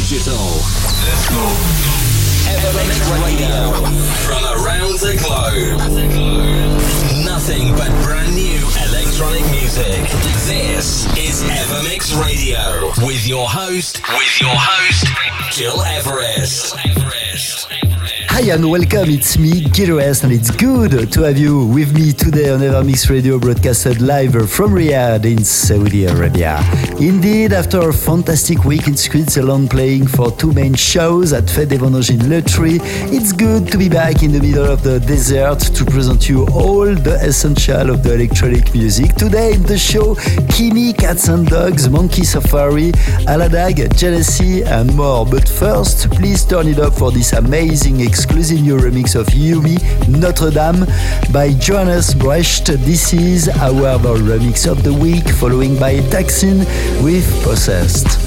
digital. Let's go. Evermix Radio. From around the globe. Nothing but brand new electronic music. This is Evermix Radio. With your host, Gil Everest. Hi and welcome, it's me, Gil Everest, and it's good to have you with me today on Evermix Radio, broadcasted live from Riyadh in Saudi Arabia. Indeed, after a fantastic week in Switzerland playing for two main shows at Fête des Vendanges in Le Tree, it's good to be back in the middle of the desert to present you all the essential of the electronic music. Today in the show, Kimi, Cats and Dogs, Monkey Safari, Aladag, Jealousy and more. But first, please turn it up for this amazing exclusive new remix of Yumi, Notre Dame by Johannes Brecht. This is our remix of the week, following by Taksin with Possessed.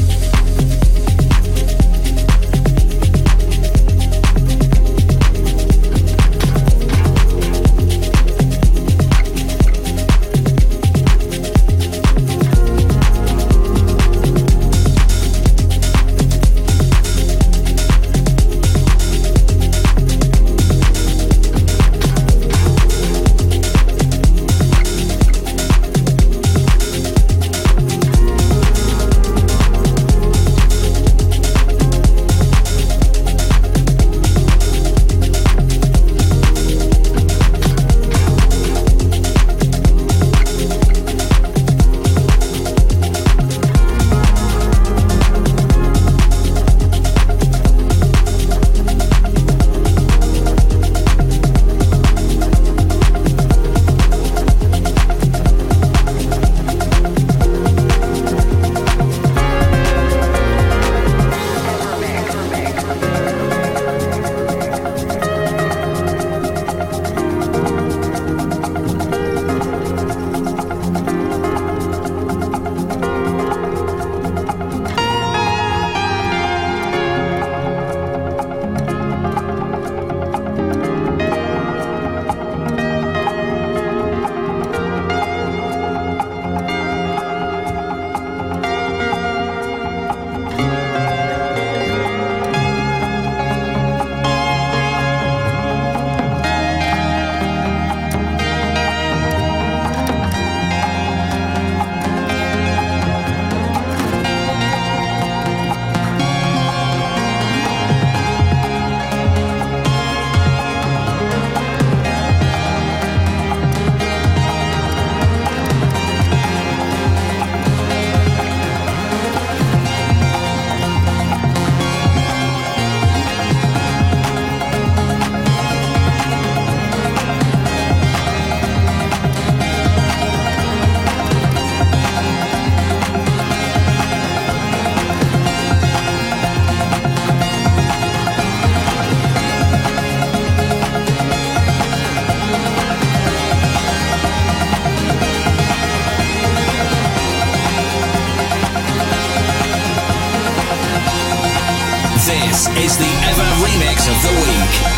This is the Ever Remix of the Week.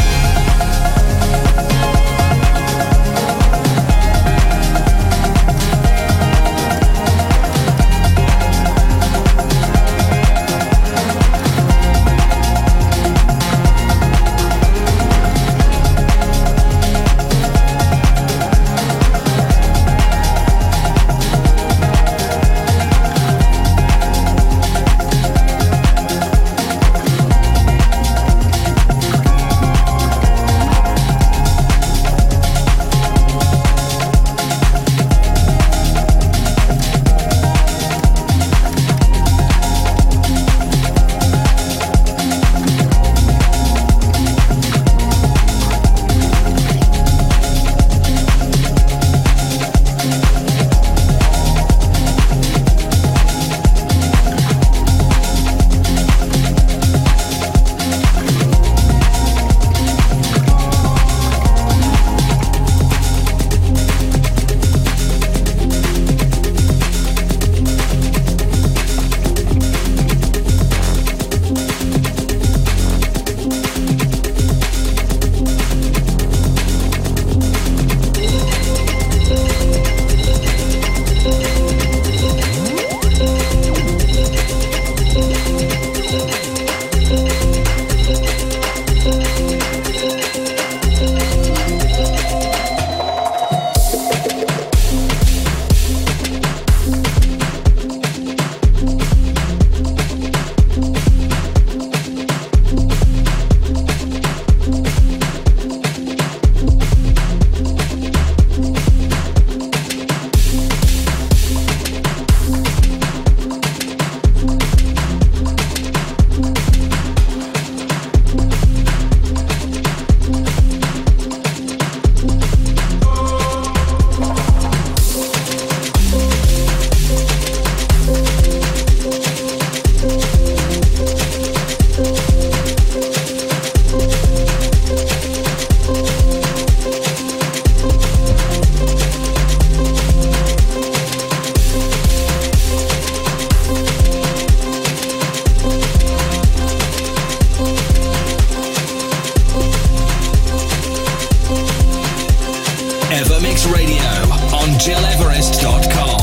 Mix Radio on GilEverest.com.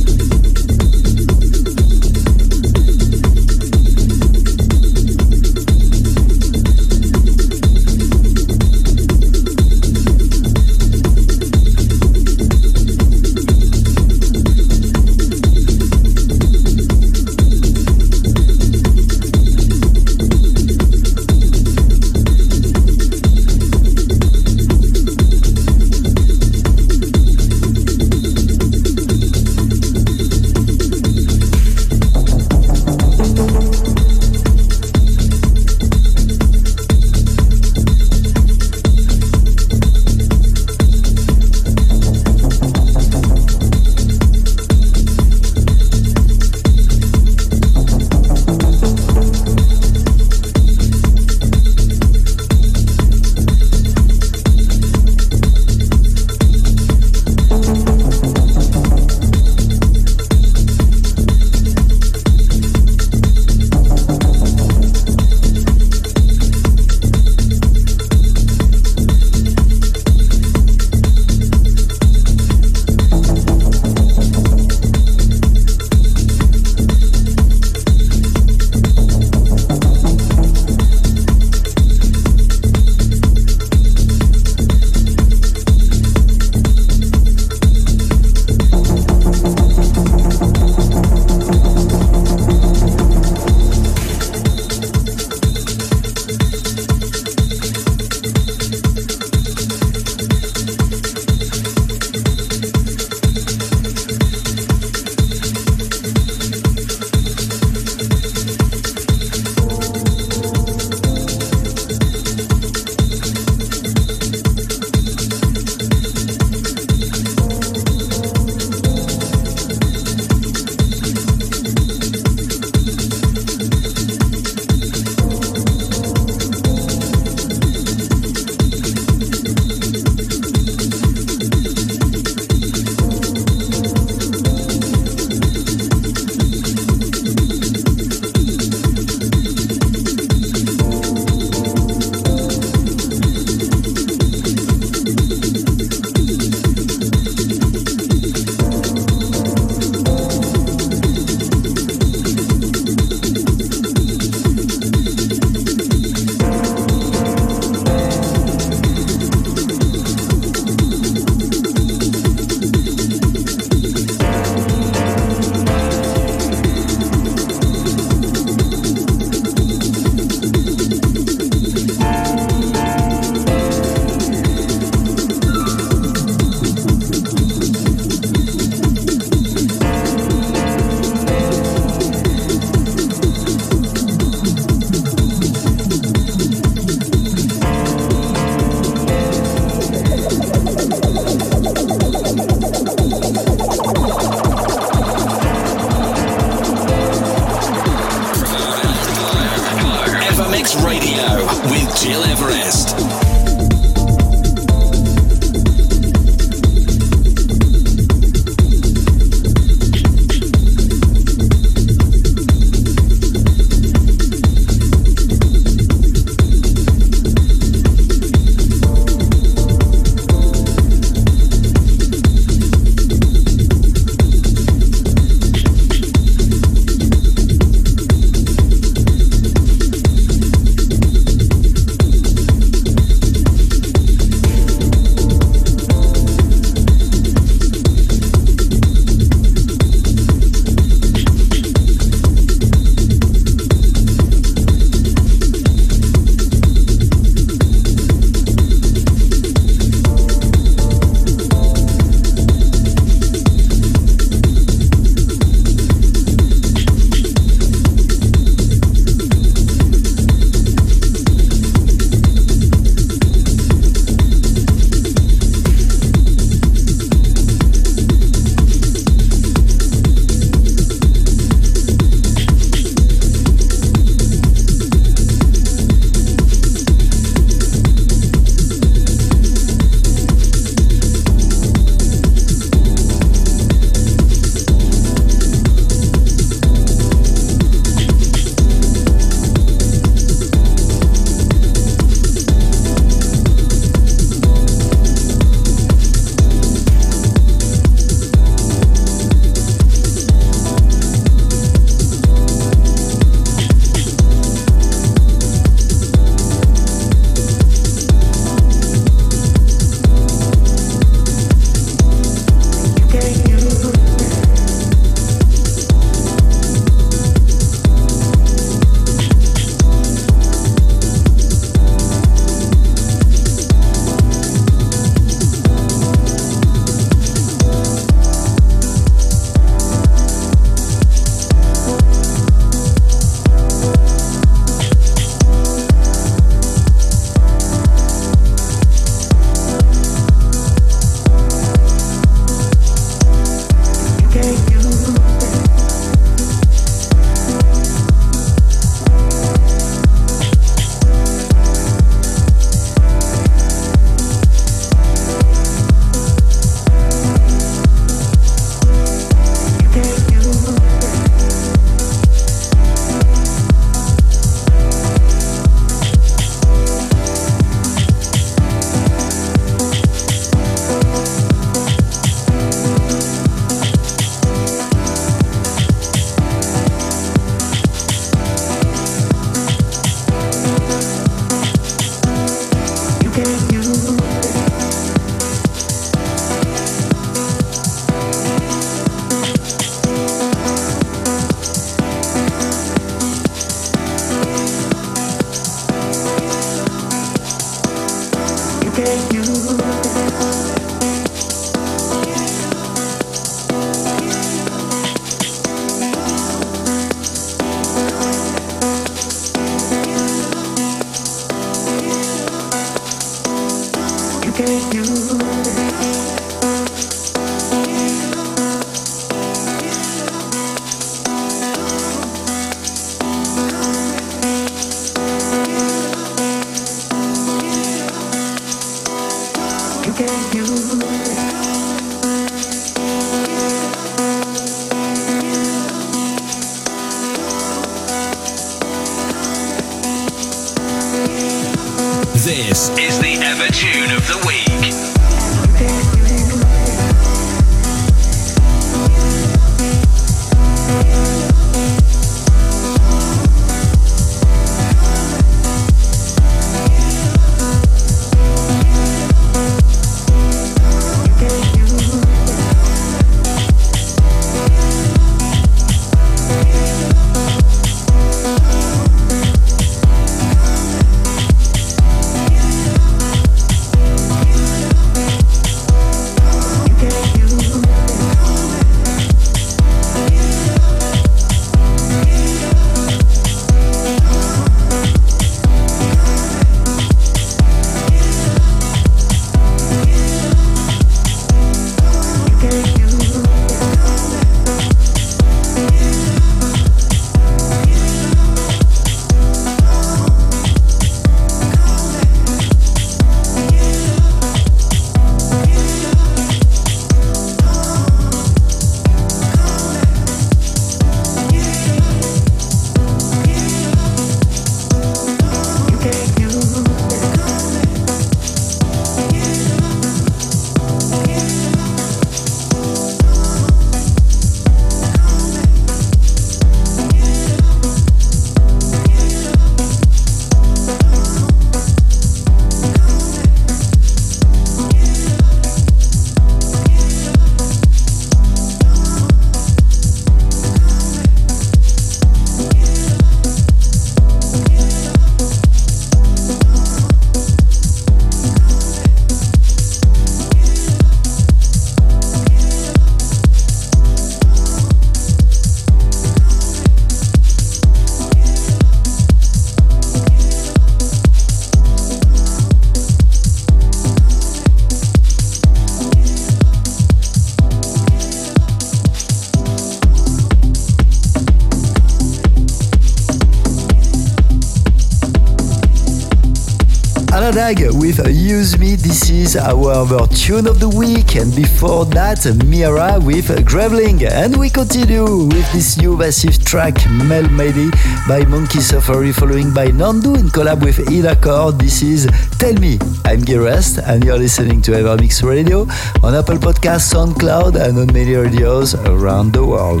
Aladag with Use Me. This is our tune of the week. And before that, Mira with Graveling. And we continue with this new massive track, Melody by Monkey Safari, following by Nandu in collab with Ida Core. This is Tell Me. I'm Gil Rest, and you're listening to Evermix Radio on Apple Podcasts, SoundCloud, and on many radios around the world.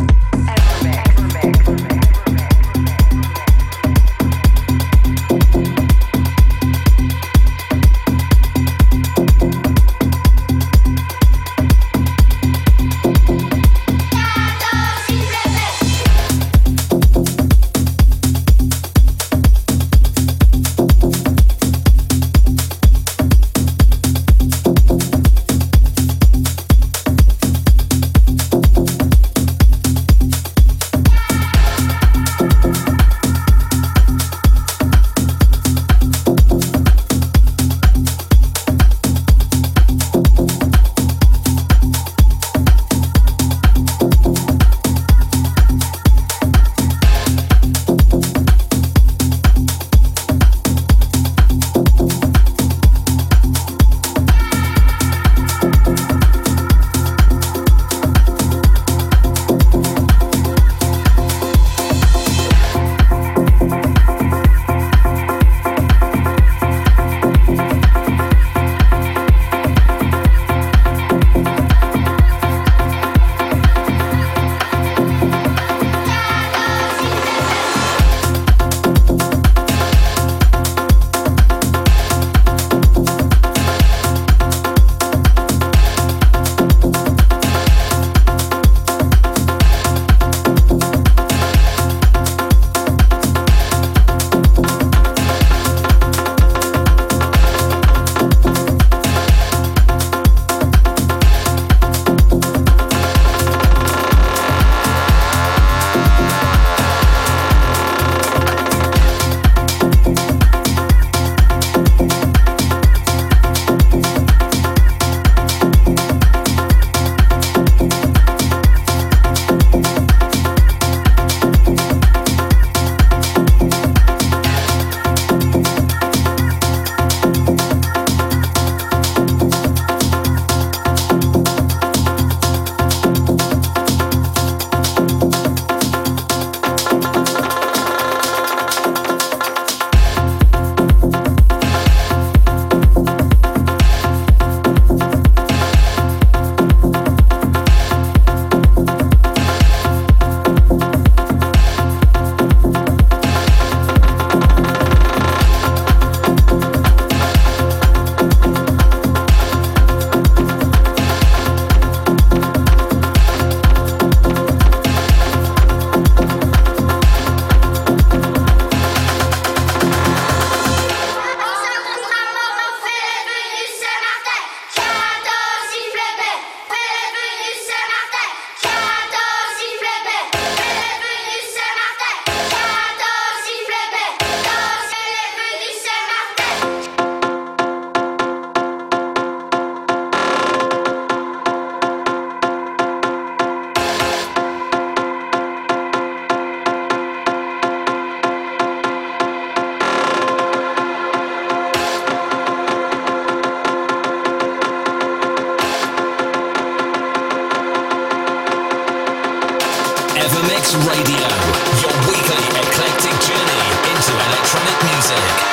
Evermix Radio, your weekly eclectic journey into electronic music.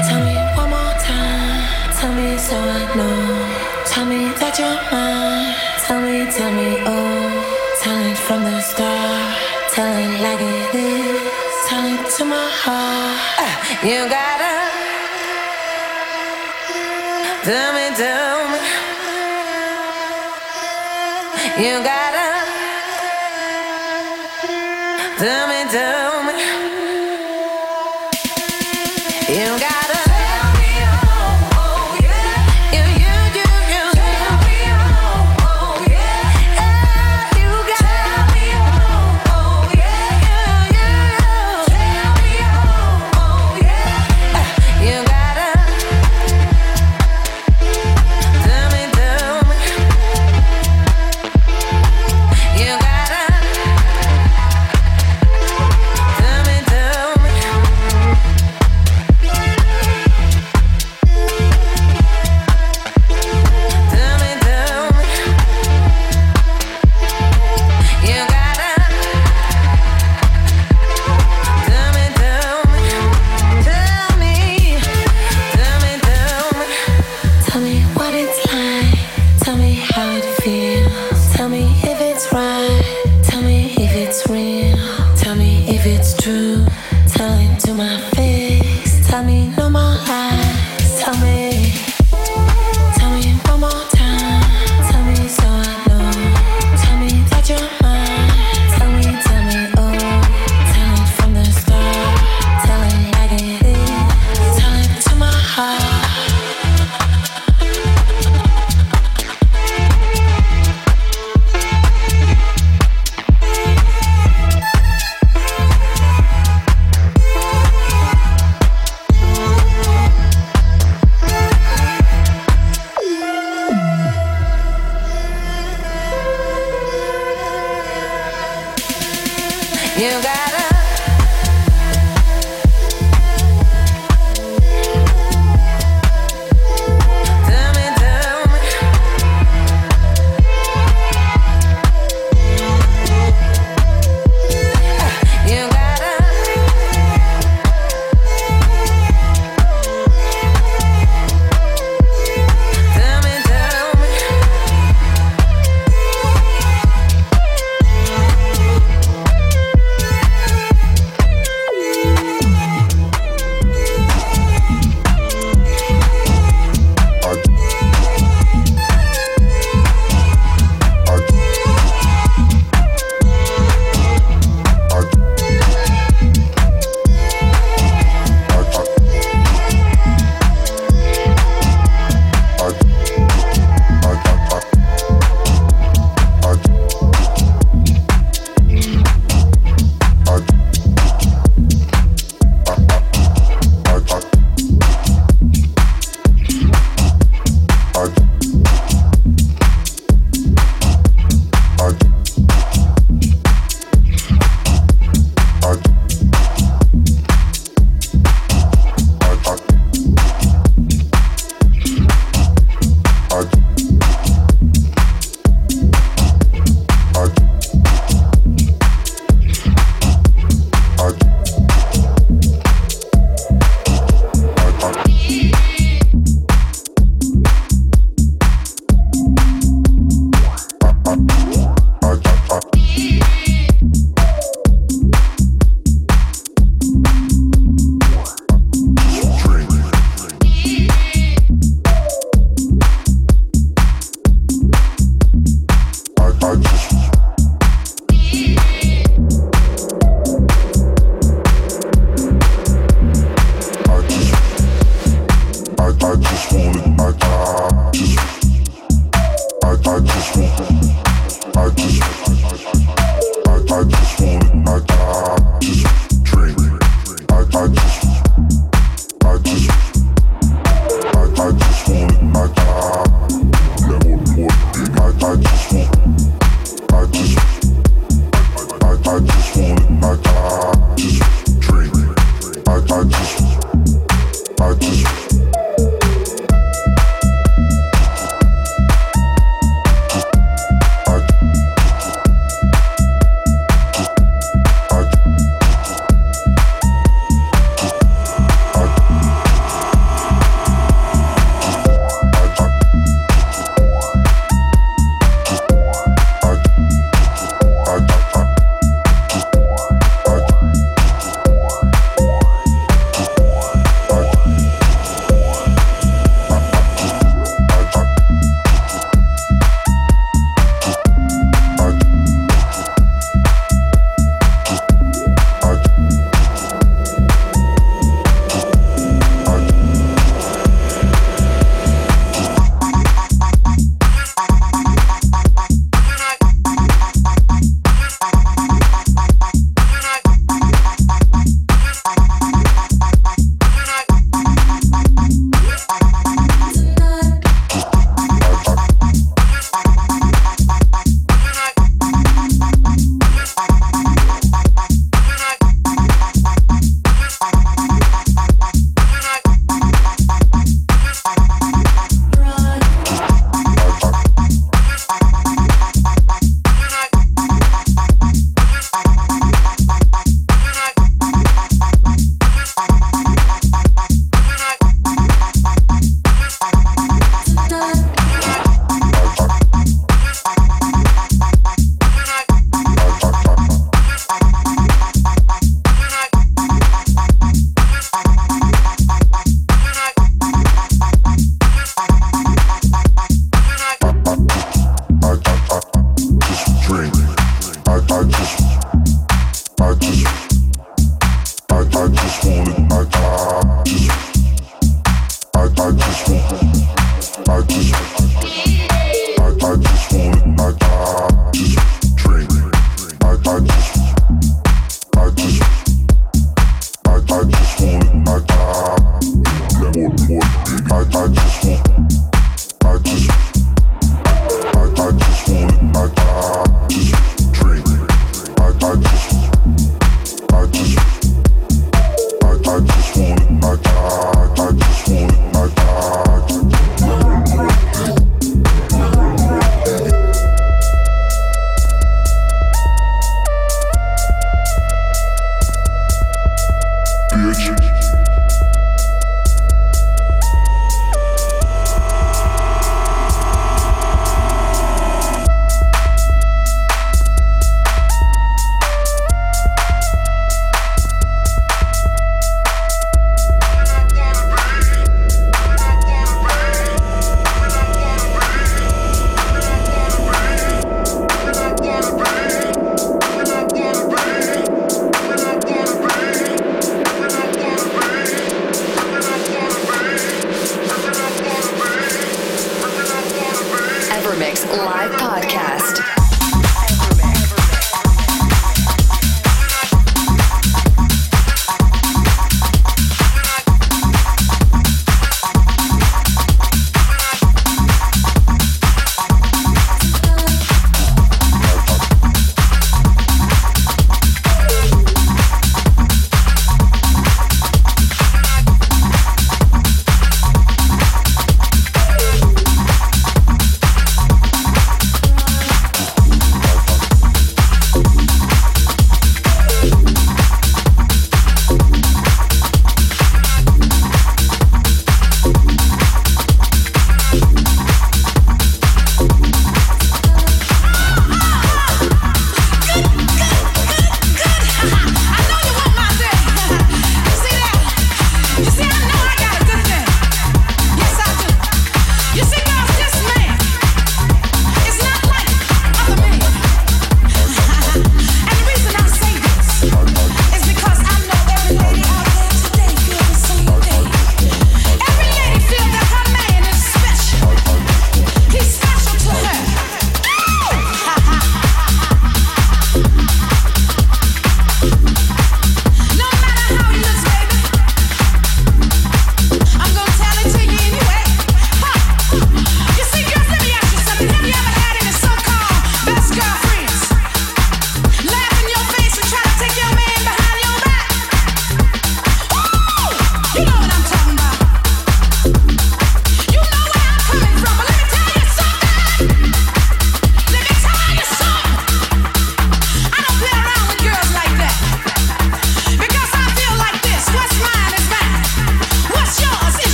Tell me one more time. Tell me so I know. Tell me that you're mine. Tell me, oh. Tell it from the start. Tell it like it is. Tell it to my heart. You gotta tell me. You gotta tell me. You gotta tell me, oh yeah. You tell me, oh yeah. You gotta tell me, oh yeah. Tell me, oh yeah. You gotta tell me. You gotta tell me. live podcast.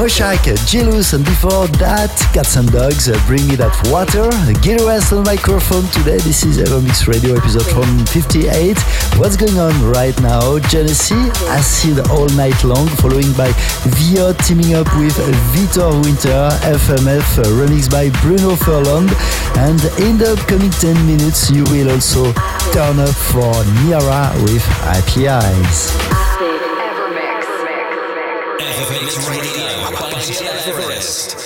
Moshak, Jealous, and before that, Cats and Dogs, Bring Me That Water. Gil Everest on microphone today. This is Evermix Radio episode from 58. What's going on right now? Genesee, Acid All Night Long, following by Vio teaming up with Vitor Winter, FMF, remixed by Bruno Furlong. And in the upcoming 10 minutes, you will also turn up for Niara with Happy Eyes. Evermix Radio by Gil Everest.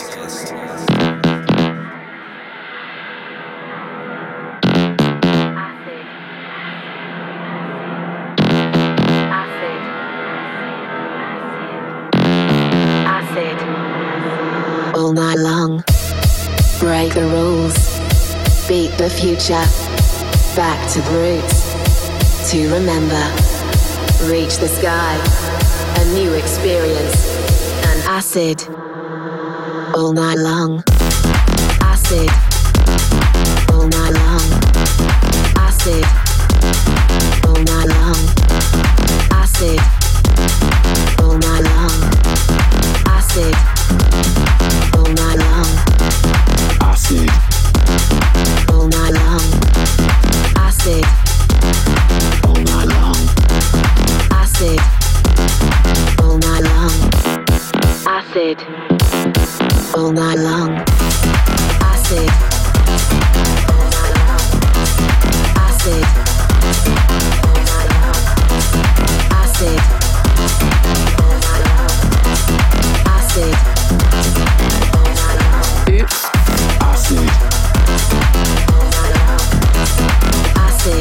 All night long, break the rules, beat the future, back to the roots, to remember, reach the sky, a new experience, and acid, all night long, acid, all night long, acid, all night long, acid, all night long, acid. All night long, acid. All night long, acid. All night long, acid. All night long, acid. All night long, acid. Acid. Acid. Acid. Oops. Acid. Acid.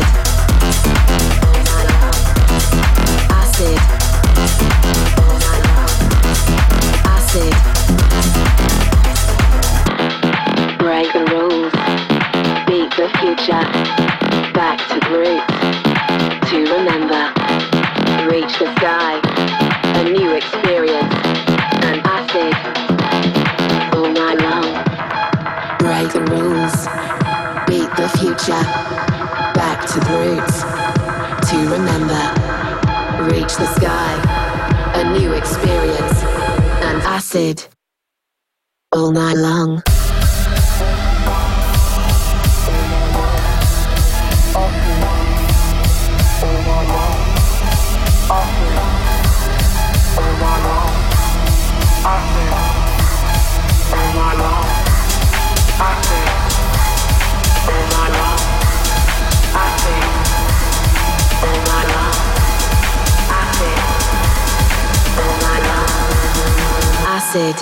Acid. Acid. Break the rules. Beat the future. Back to the roots. To remember. Reach the sky. A new experience. And acid. All night long. Break the rules, beat the future, back to the roots, to remember, reach the sky, a new experience, and acid, all night long. Acid.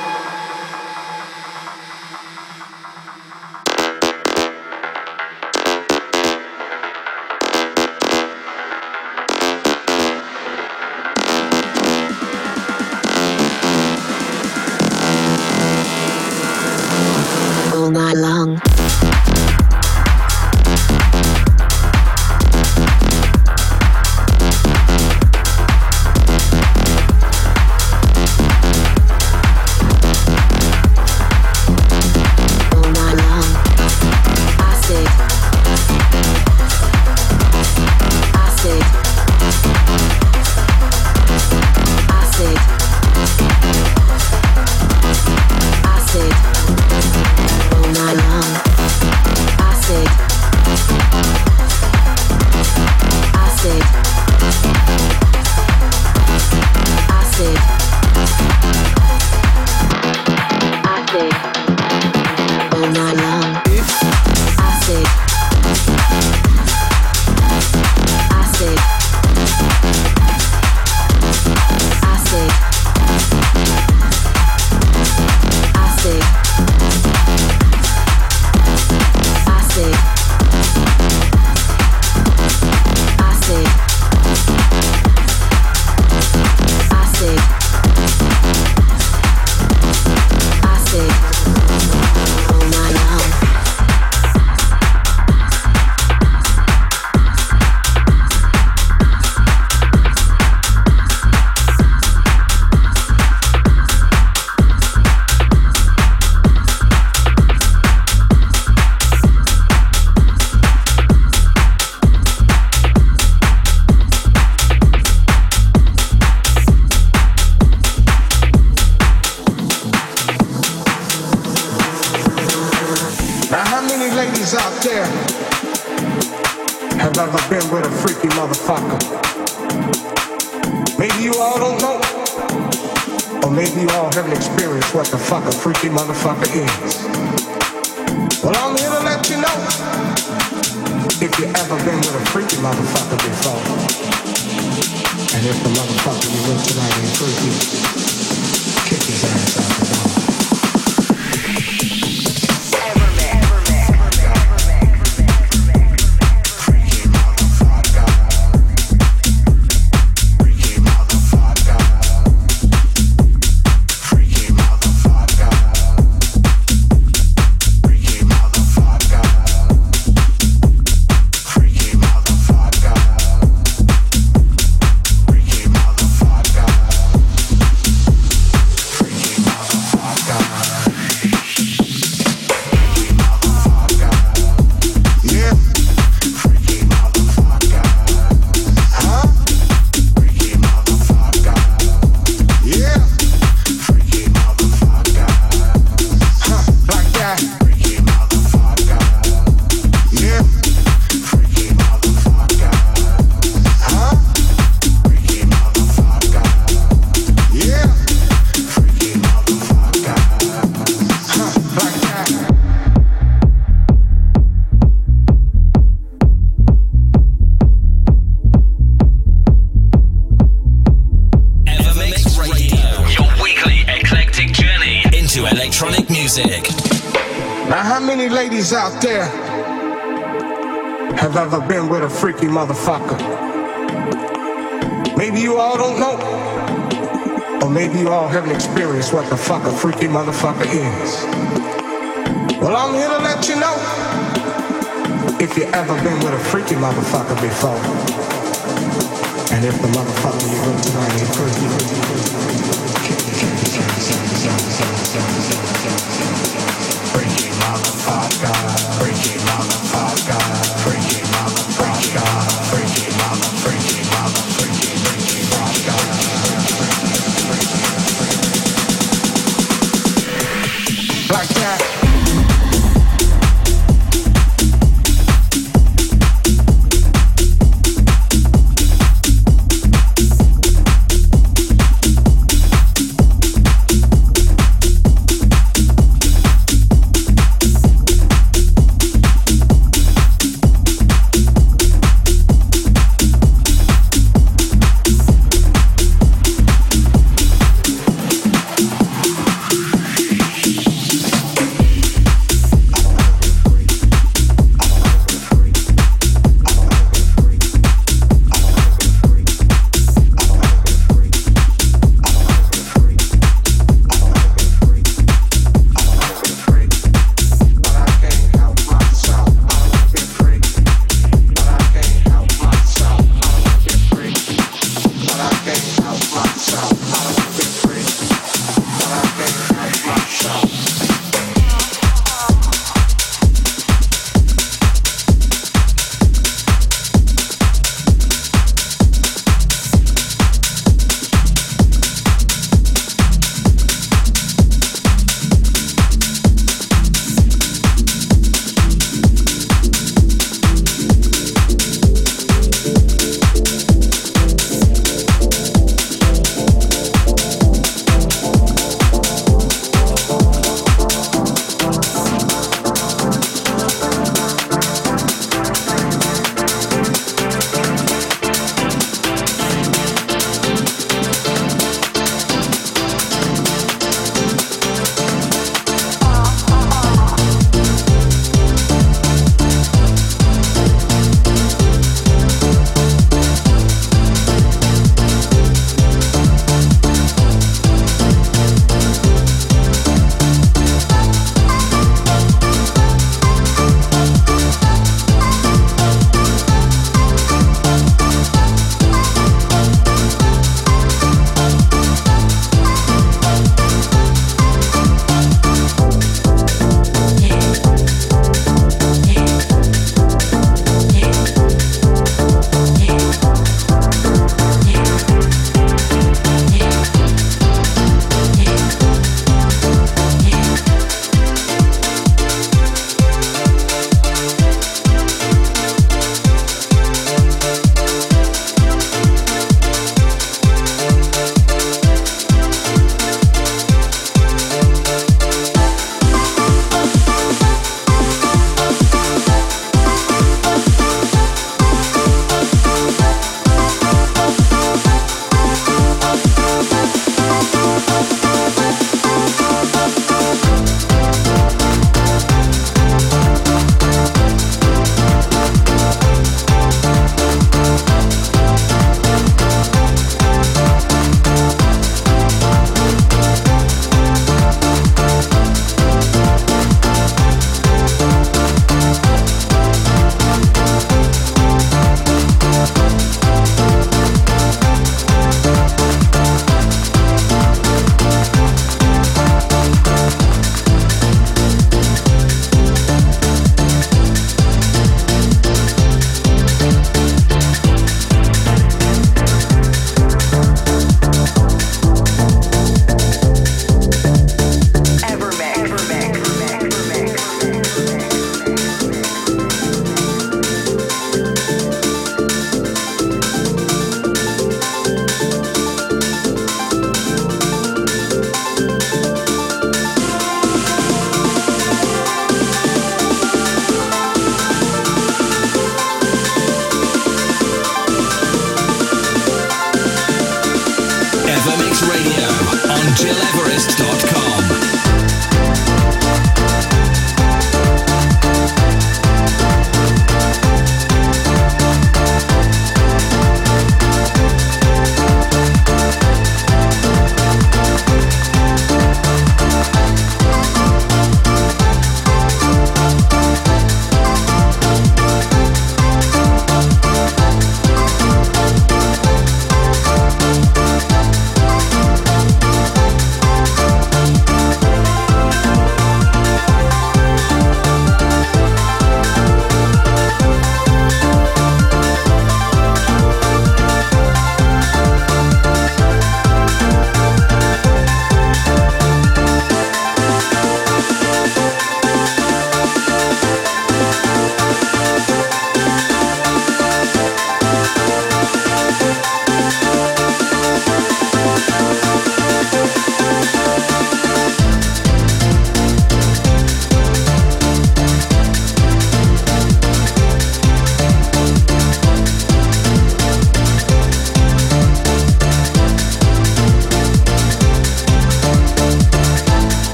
All night long. ever been with a freaky motherfucker? Maybe you all don't know, or maybe you all haven't experienced what the fuck a freaky motherfucker is. Well, I'm here to let you know, if you ever been with a freaky motherfucker before, and if the motherfucker you with tonight ain't freaky, kick his ass out the door. Out there have ever been with a freaky motherfucker? Maybe you all don't know, or maybe you all haven't experienced what the fuck a freaky motherfucker is. Well, I'm here to let you know, if you ever been with a freaky motherfucker before, and if the motherfucker you with tonight ain't freaky, freaky motherfucker, freaky motherfucker, freaky motherfucker, freaky mother, freaky mother, freaky motherfucker. Like that.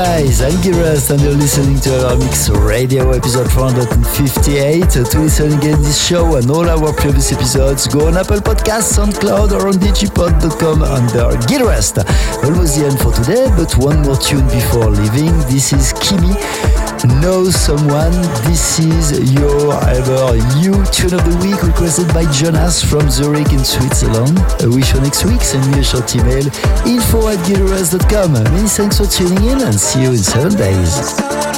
guys, I'm Giras and you're listening to Evermix Radio episode 458. To listen again this show and all our previous episodes, go on Apple Podcasts, SoundCloud or on digipod.com under Giras. Almost the end for today, but one more tune before leaving. This is Kimi, Know Someone. This is your ever you tune of the week requested by Jonas from Zurich in Switzerland. I wish you next week. Send me a short email, info@gileras.com. Many thanks for tuning in and see you in 7 days.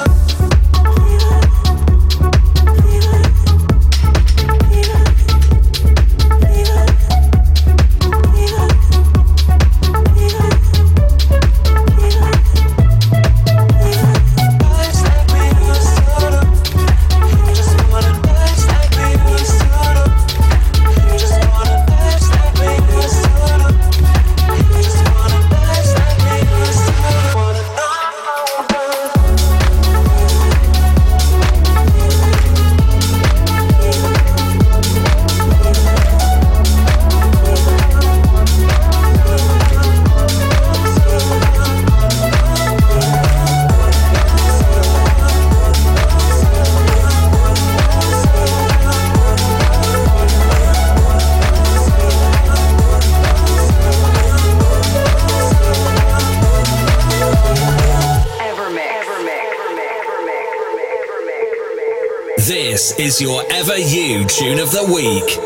This is your Ever You Tune of the Week.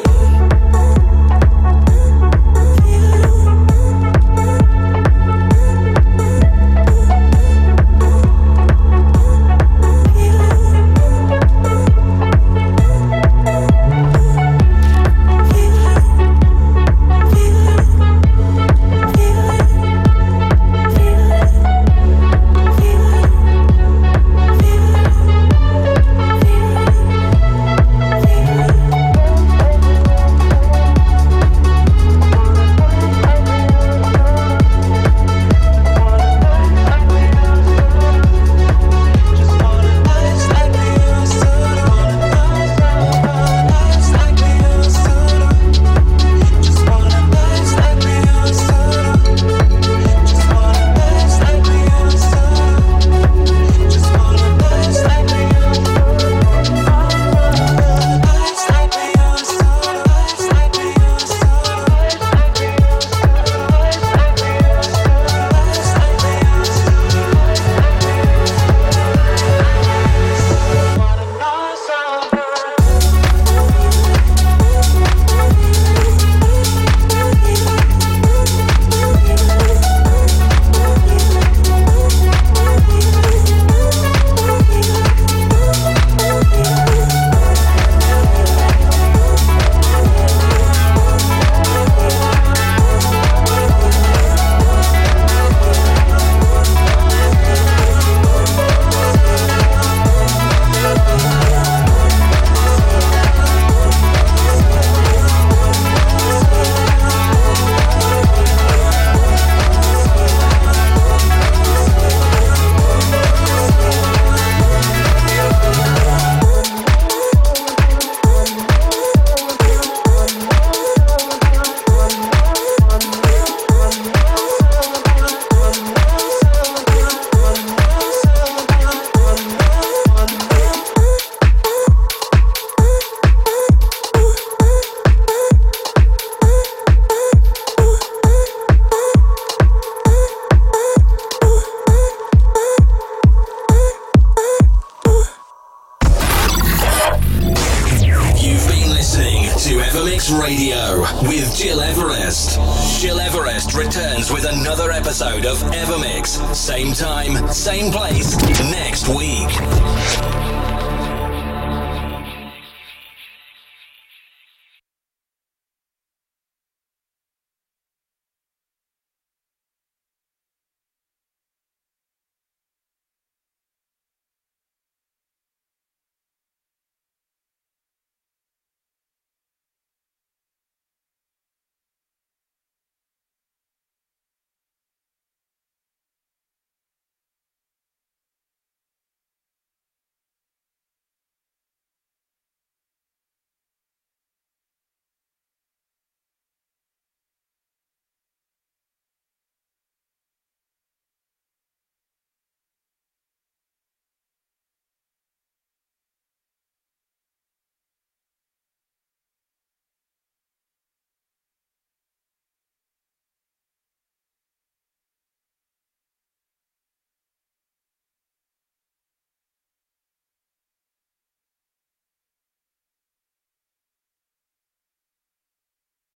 Radio with Gil Everest. Gil Everest returns with another episode of Evermix. Same time, same place, next week.